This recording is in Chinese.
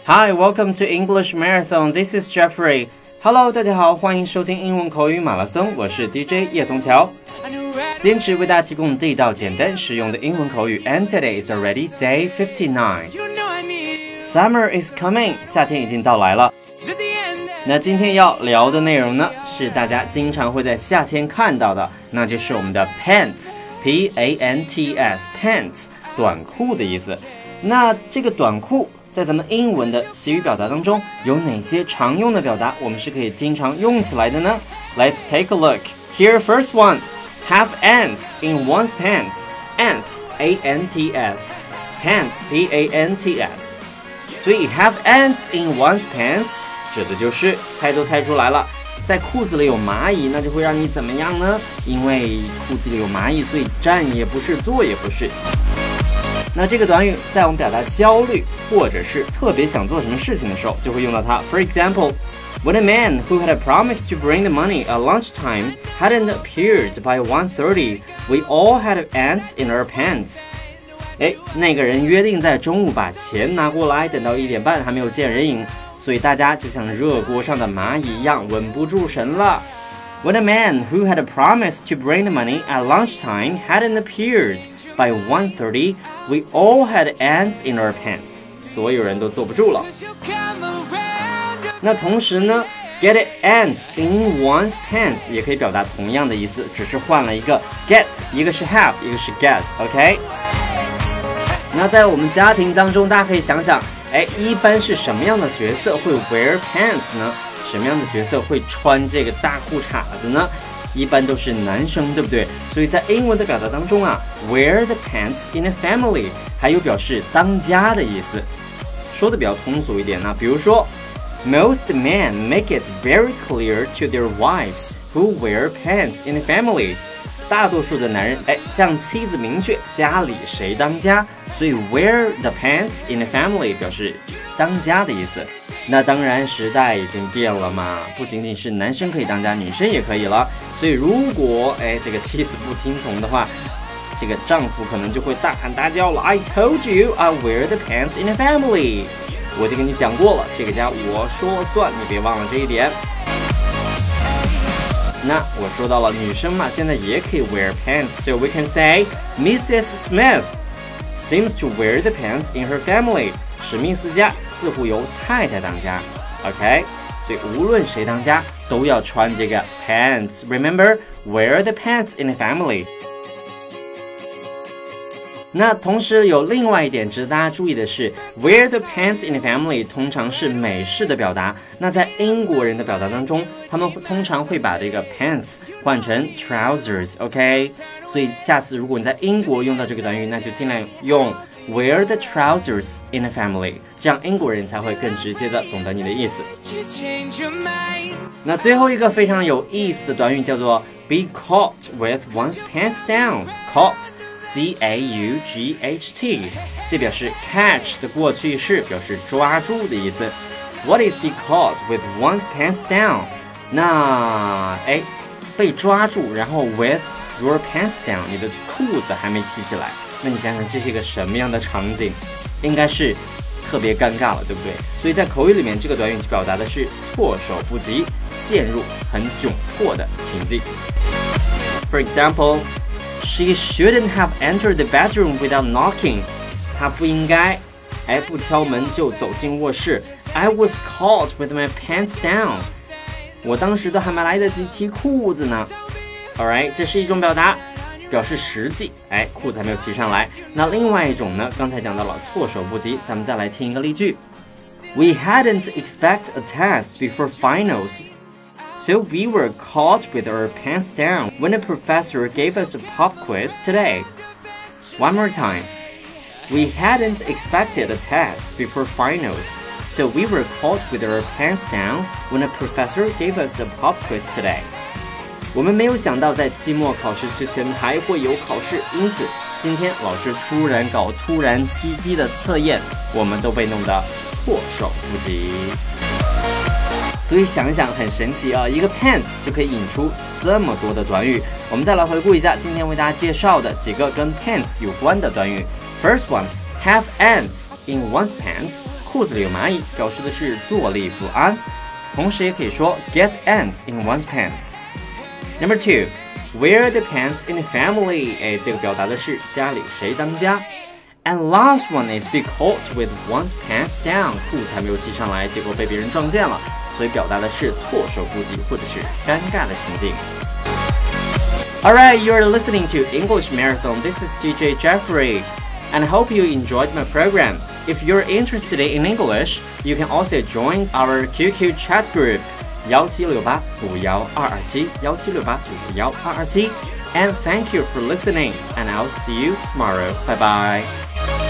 Hi, welcome to English Marathon. This is Jeffrey. Hello, 大家好，欢迎收听英文口语马拉松，我是 DJ 叶童桥。坚持为大家提供地道、简单、实用的英文口语。And today is already day 59. Summer is coming. 夏天已经到来了。那今天要聊的内容呢，是大家经常会在夏天看到的，那就是我们的 pants, P-A-N-T-S, pants, 短裤的意思。那这个短裤在咱们英文的习语表达当中有哪些常用的表达我们是可以经常用起来的呢？ Let's take a look. Here, first one. Have ants in one's pants. Ants, A-N-T-S. Pants, P-A-N-T-S. 所以 have ants in one's pants 指的就是猜都猜出来了，在裤子里有蚂蚁，那就会让你怎么样呢？因为裤子里有蚂蚁，所以站也不是，坐也不是。那这个短语在我们表达焦虑或者是特别想做什么事情的时候就会用到它。 For example, when a man who had promised to bring the money at lunchtime hadn't appeared by 1:30, we all had ants in our pants. 那个人约定在中午把钱拿过来，等到1点半还没有见人影，所以大家就像热锅上的蚂蚁一样稳不住神了。When a man who had promised to bring the money at lunchtime hadn't appeared by 1:30, we all had ants in our pants. 所有人都坐不住了。那同时呢 get ants in one's pants 也可以表达同样的意思，只是换了一个 get， 一个是 have， 一个是 get, OK？ 那在我们家庭当中，大家可以想想，一般是什么样的角色会 wear pants 呢？什么样的角色会穿这个大裤衩子呢？一般都是男生，对不对？所以在英文的表达当中啊 wear the pants in a family 还有表示当家的意思，说的比较通俗一点呢。比如说 Most men make it very clear to their wives who wear pants in a family. 大多数的男人向妻子明确家里谁当家，所以 wear the pants in a family 表示当家的意思。那当然时代已经变了嘛，不仅仅是男生可以当家，女生也可以了。所以如果这个妻子不听从的话，这个丈夫可能就会大喊大叫了。 I told you I wear the pants in a family. 我就跟你讲过了，这个家我说算，你别忘了这一点。那我说到了女生嘛，现在也可以 wear pants, so we can say Mrs. Smith seems to wear the pants in her family. 史密斯家似乎由太太当家 OK， 所以无论谁当家都要穿这个 pants. Remember, wear the pants in a family. 那同时有另外一点值得大家注意的是 wear the pants in a family 通常是美式的表达，那在英国人的表达当中，他们通常会把这个 pants 换成 trousers, OK？ 所以下次如果你在英国用到这个短语，那就尽量用 wear the trousers in a family， 这样英国人才会更直接的懂得你的意思。那最后一个非常有意思的短语叫做 be caught with one's pants down. Caught C-A-U-G-H-T 这表示 catch 的过去式，表示抓住的意思。 What is be caught with one's pants down? 那被抓住，然后 with your pants down 你的裤子还没提起来，那你想想这是一个什么样的场景？应该是特别尴尬了，对不对？所以在口语里面这个短语表达的是措手不及，陷入很窘迫的情境。 For example, She shouldn't have entered the bedroom without knocking. 她不应该不敲门就走进卧室。 I was caught with my pants down. 我当时都还没来得及提裤子呢。 Alright, 这是一种表达，表示实际，裤子还没有提上来。那另外一种呢，刚才讲到了措手不及，咱们再来听一个例句。 We hadn't expected a test before finals.So we were caught with our pants down when the professor gave us a pop quiz today. One more time. We hadn't expected a test before finals, so we were caught with our pants down when the professor gave us a pop quiz today. 我们没有想到在期末考试之前还会有考试，因此今天老师突然搞突然袭击的测验，我们都被弄得措手不及。所以想一想很神奇啊，一个 pants 就可以引出这么多的短语。我们再来回顾一下今天为大家介绍的几个跟 pants 有关的短语。First one, have ants in one's pants. 裤子里有蚂蚁，表示的是坐立不安。同时也可以说 get ants in one's pants。 Number 2 wear the pants in the family， 这个表达的是家里谁当家。 And last one is be caught with one's pants down， 裤子还没有系上来，结果被别人撞见了，所以表达的是措手不及或者是尴尬的情境。Alright, you're listening to English Marathon. This is DJ Jeffrey, and I hope you enjoyed my program. If you're interested in English, you can also join our QQ chat group 1768-51227 1768-51227. And thank you for listening, and I'll see you tomorrow. Bye bye.